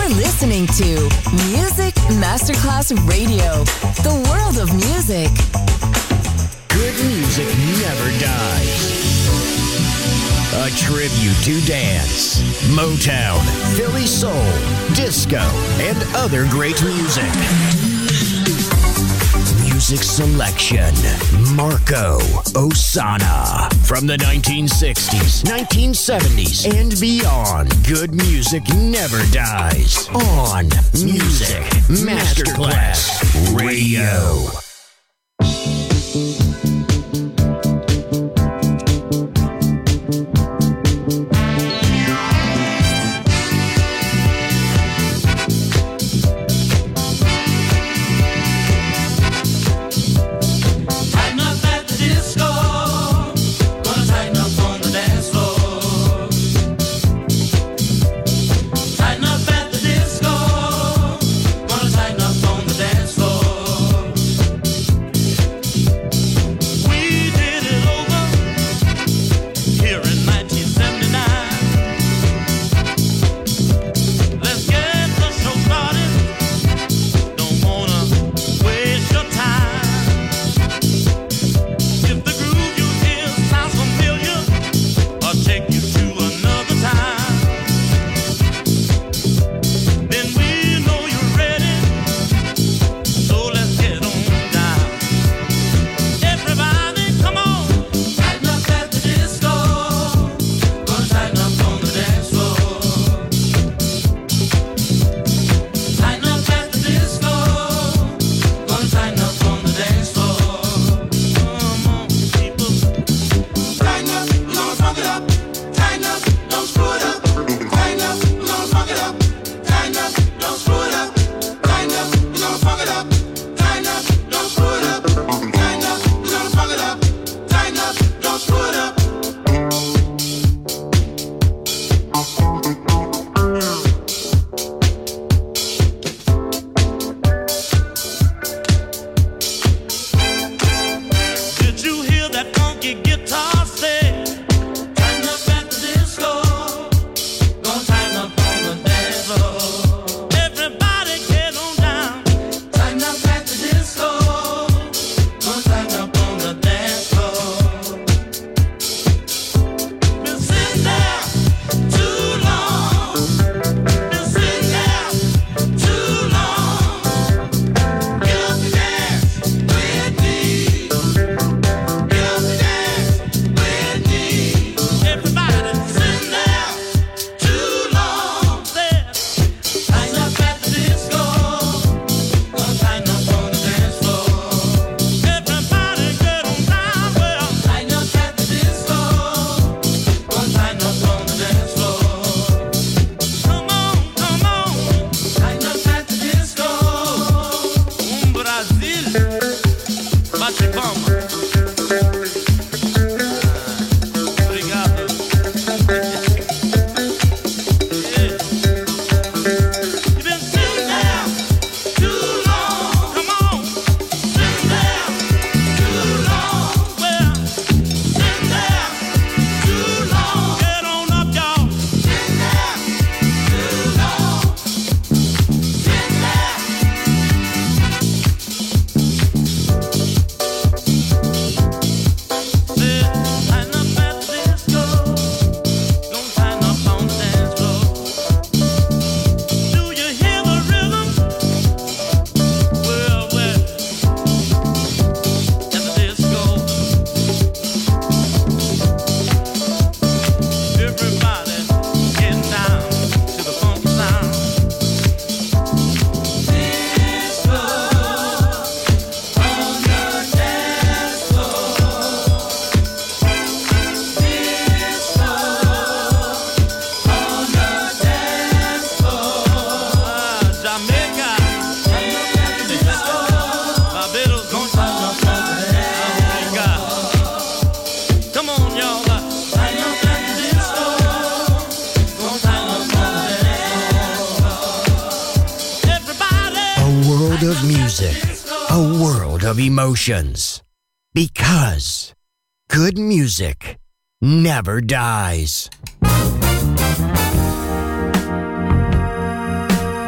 You're listening to Music Masterclass Radio, the world of music. Good music never dies. A tribute to dance, Motown, Philly soul, disco, and other great music. Music selection, Marco Ossanna. From the 1960s, 1970s, and beyond, good music never dies. On Music Masterclass Radio. Of music, a world of emotions. Because good music never dies.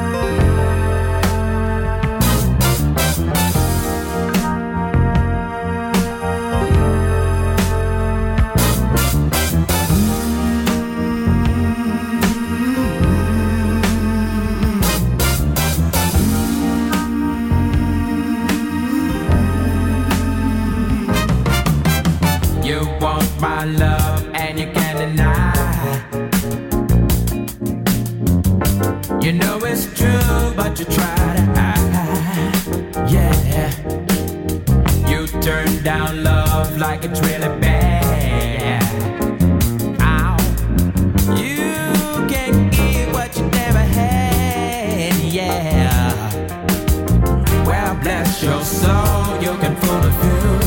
You know it's true, but you try to hide. Yeah, you turn down love like it's really bad. Ow. You can't give what you never had. Yeah. Well, bless your soul, you can fool a few.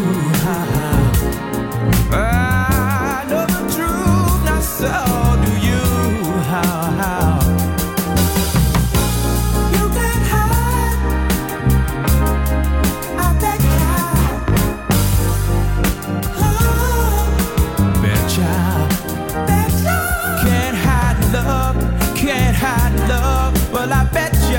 I know the truth, not so do you. How? You can't hide. I bet you. Betcha. Can't hide love, can't hide love. Well, I bet you.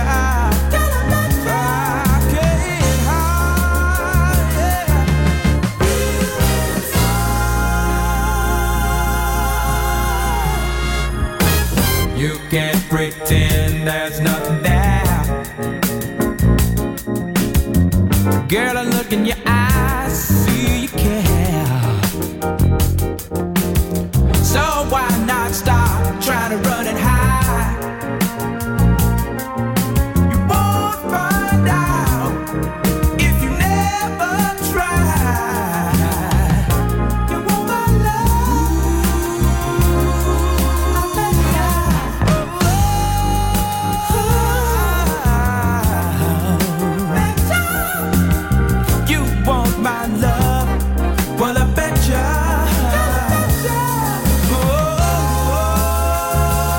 You can't pretend there's nothing there. Girl, I look in your eyes, see you care. So why not stop trying to run and hide? You won't find out if you never try. You want my love, I bet you want my love. Well, I bet ya.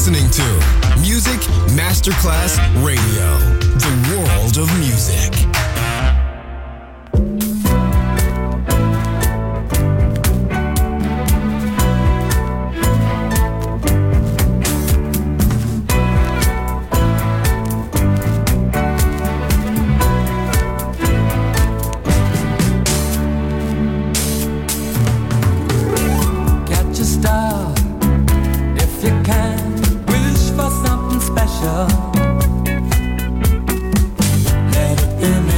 listening to Music Masterclass Radio, the world of music. Let it be.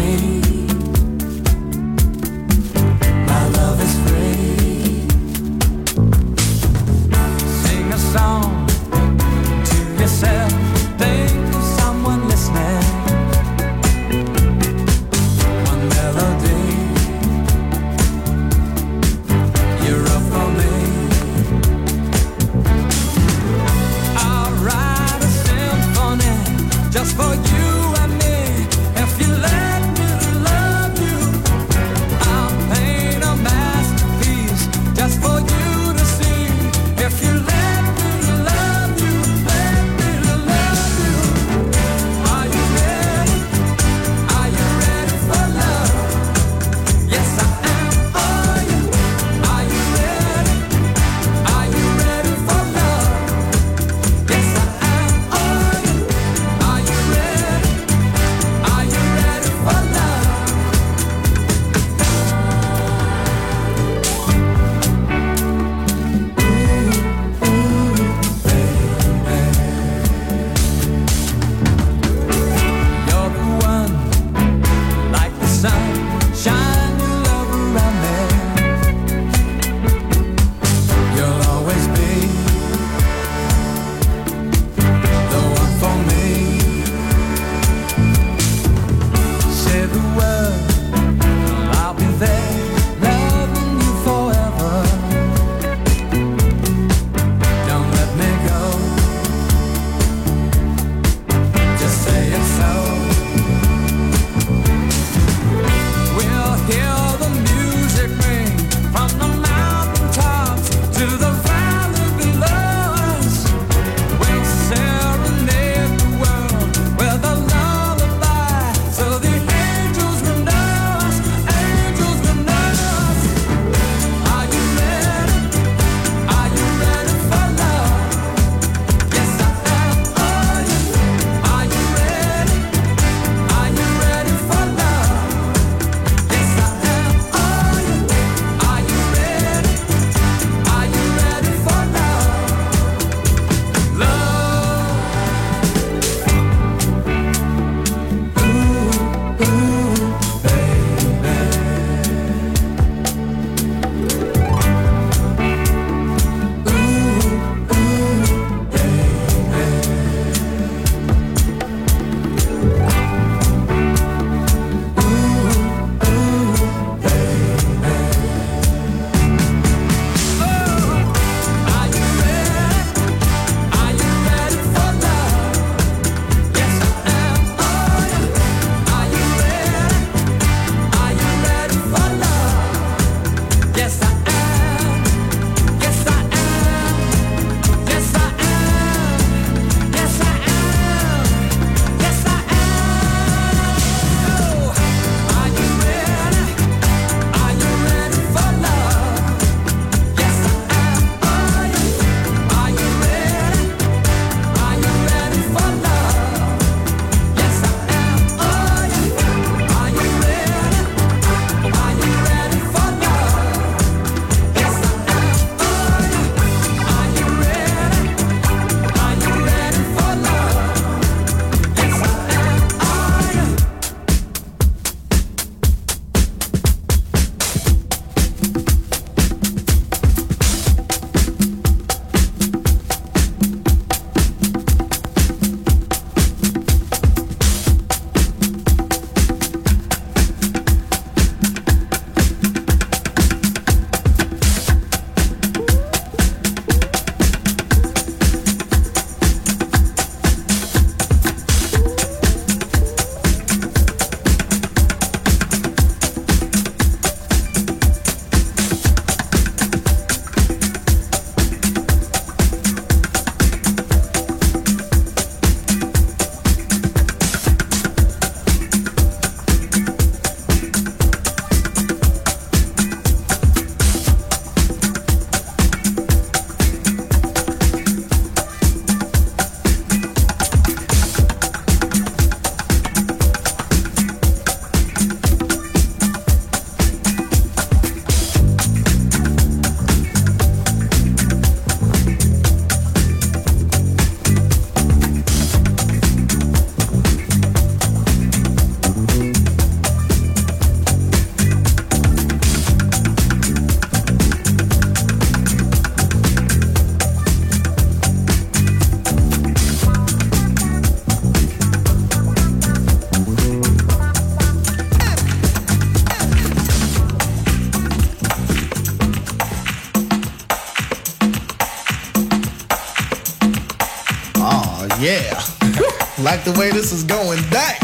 Yeah. Like the way this is going down.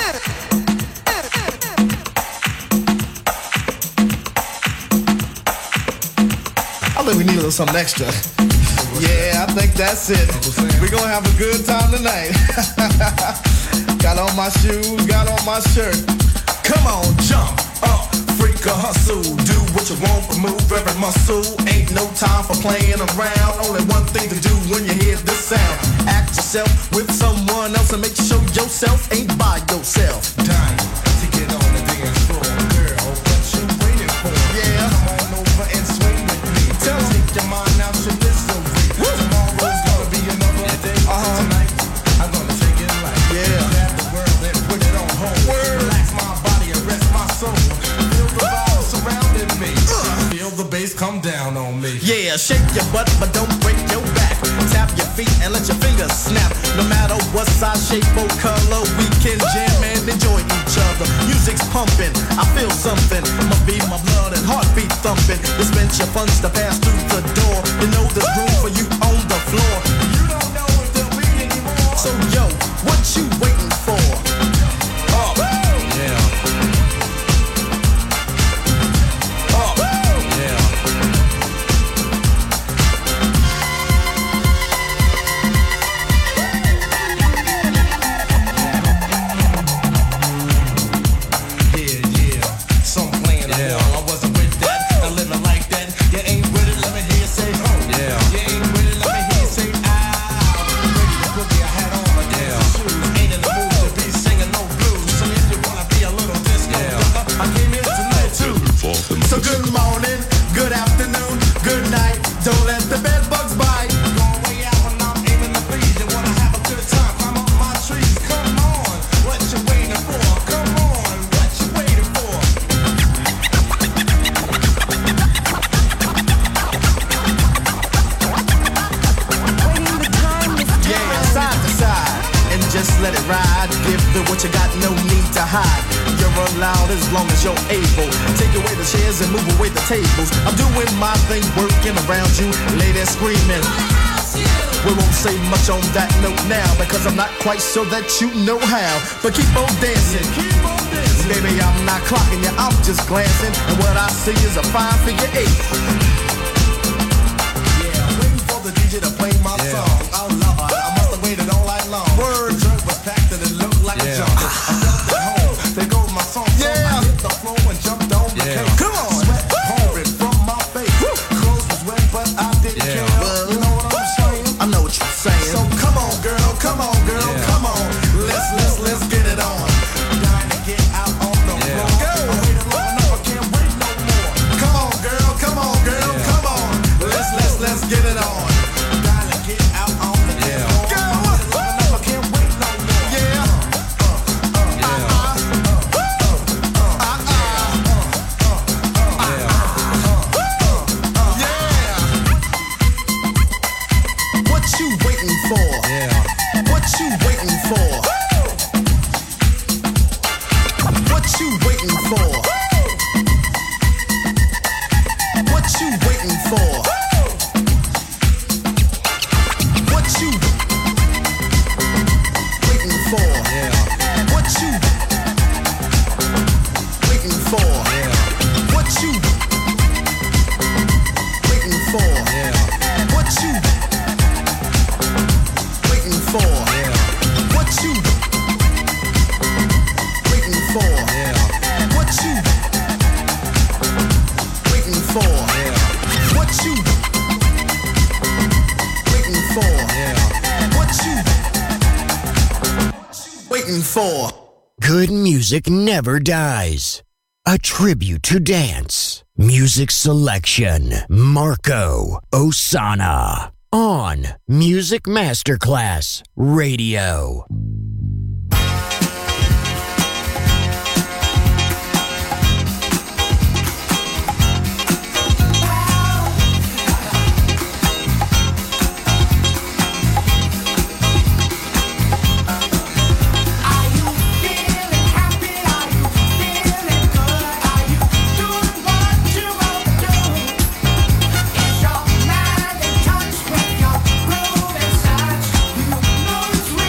I think we need a little something extra. Yeah, I think that's it. We're gonna have a good time tonight. Got on my shoes, got on my shirt. Come on, jump up, freak or hustle. Do what you want, but move every muscle. Ain't no time for playing around. Only one thing to do when you hear this sound. Act yourself with someone else and make sure yourself ain't by yourself. Dying to get on the dance floor. Girl, what you waiting for? Yeah, come on over and swing with me. Take your mind out your misery. Tomorrow's gonna be another day. Tonight, I'm gonna take it light. Yeah. Grab the world and put it on hold. Relax my body and rest my soul. Feel the vibe surrounding me. Feel the bass come down on me. Yeah, shake your butt, but don't break your back. Tap your feet and let your fingers snap. No matter what size, shape, or color, we can jam and enjoy each other. Music's pumping, I feel something. Must be my blood and heartbeat thumping. Dispense your funds to pass through the door. You know there's room for you on the floor. You don't know if there'll be any more. So yo, what you waiting for? Up, yeah. Up, yeah. So good morning, good afternoon, good night. Don't let the bed bugs bite. Going way out when I'm aiming to please. You wanna have a good time, climb up my trees. Come on, what you waiting for? Come on, what you waiting for? Waiting the time is time. Yeah, side to side, and just let it ride. Give it what you got, no need to hide. You're allowed as long as you're able. Take away the chairs and move away the tables. I'm doing my thing, working around you, ladies screaming. We won't say much on that note now, because I'm not quite sure that you know how. But keep on dancing, baby, I'm not clocking you, I'm just glancing. And what I see is a 5-figure 8. Yeah, waiting for the DJ to play my song. Oh Lord, I must have waited all night long. Word, the drink was packed and it looked like a junk. I felt at home, there goes my song. So I hit the floor and jumped on the cake. Come on, sweat pouring from my face. Clothes was wet, but I didn't care. You know what I'm saying? I know what you're saying. So come on, girl, come on, girl, come on. Let's get it on. Dying to get out on the floor. I'm waiting long enough, I can't wait no more. Come on, girl, come on, girl, come on. Let's get it on. Dying to get out on the floor. I'm waiting long enough, I can't wait no more. Yeah. What you waiting for? What you waiting for? What you waiting for? What you waiting for? What you waiting for? What you waiting for? What you waiting for? What you waiting for? What you waiting for? What you waiting for? What you waiting for? What you waiting for? Good music never dies. A tribute to dance. Music selection. Marco Ossanna. On Music Masterclass Radio. It's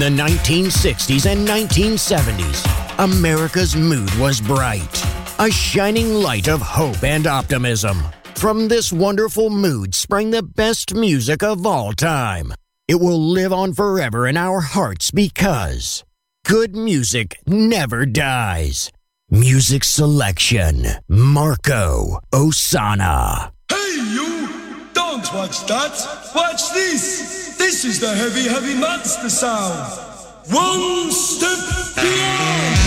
the 1960s and 1970s, America's mood was bright, a shining light of hope and optimism. From this wonderful mood sprang the best music of all time. It will live on forever in our hearts because good music never dies. Music selection, Marco Ossanna. Hey you! Don't watch that! Watch this! This is the heavy, heavy monster sound! One step beyond!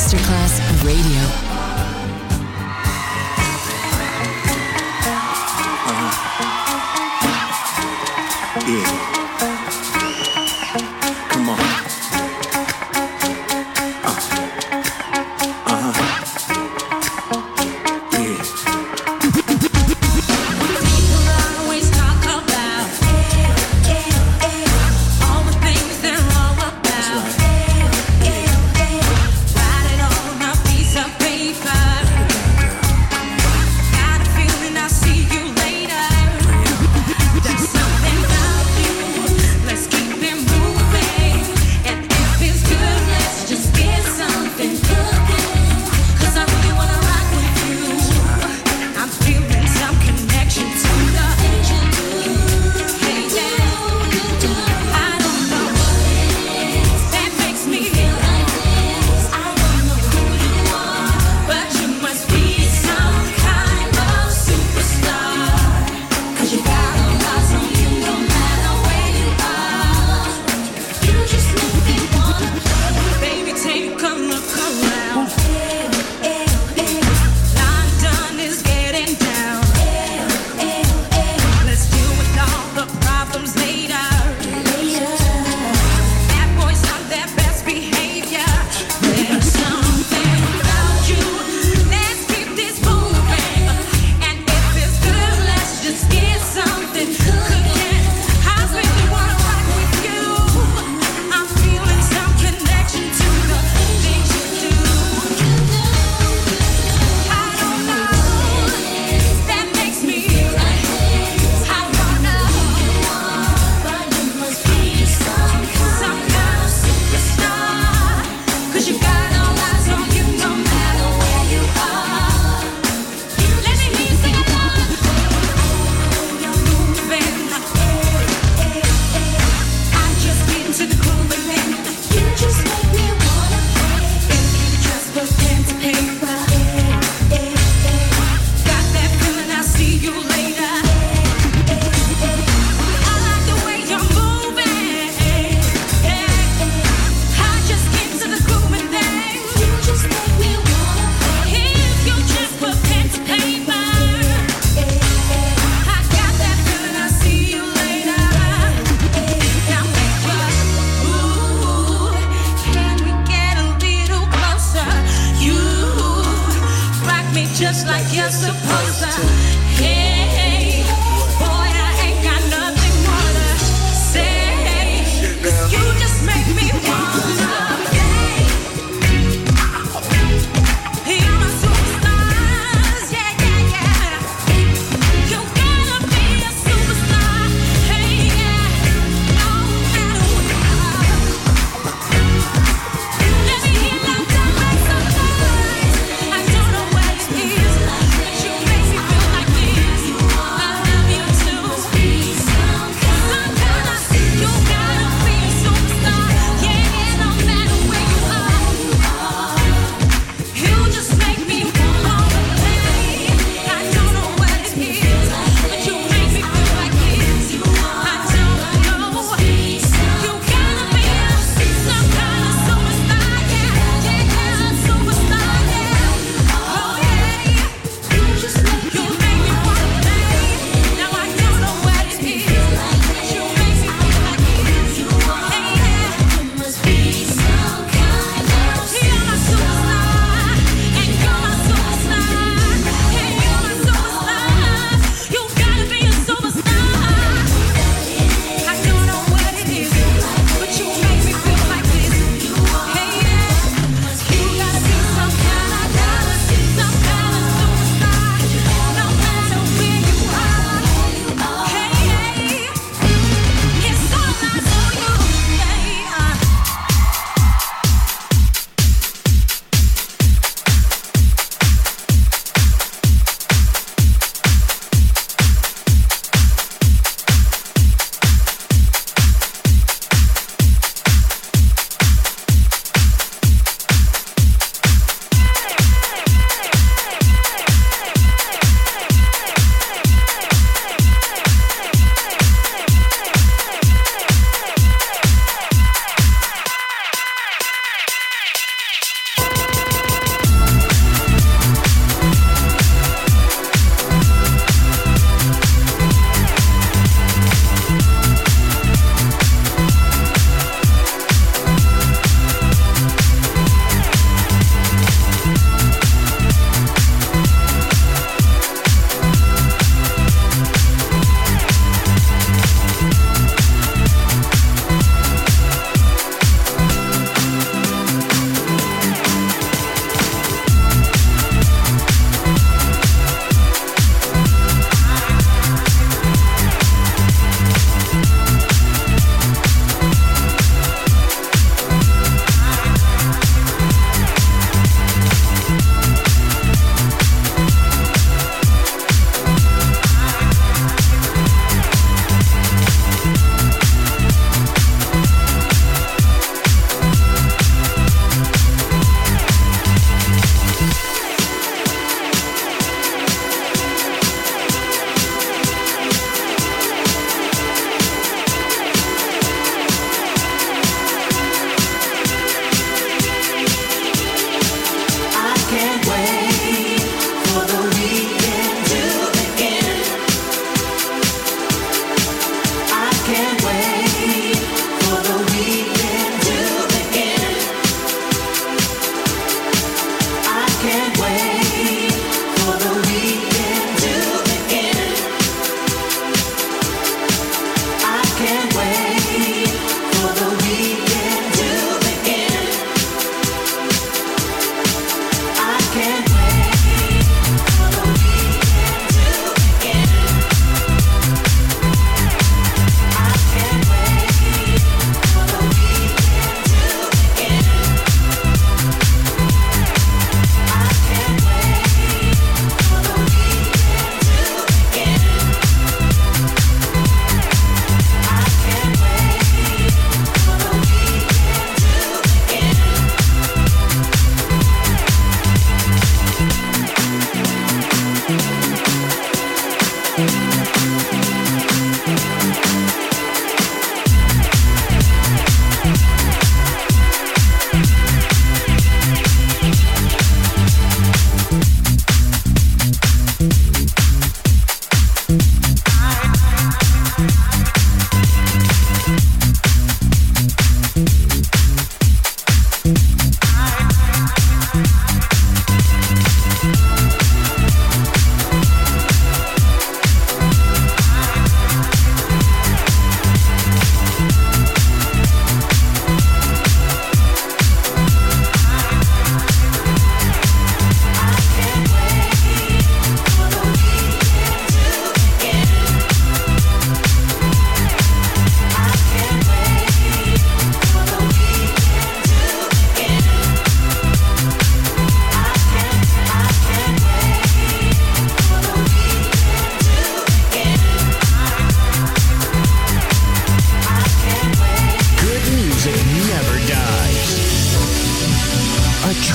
Masterclass Radio. Yeah. Come on. Yeah. People always talk about all the things they're wrong about. Write it on a piece of paper. Got a feeling I'll see you later. There's something about you.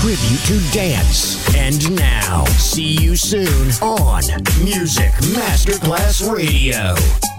tribute to dance. And now, see you soon on Music Masterclass Radio.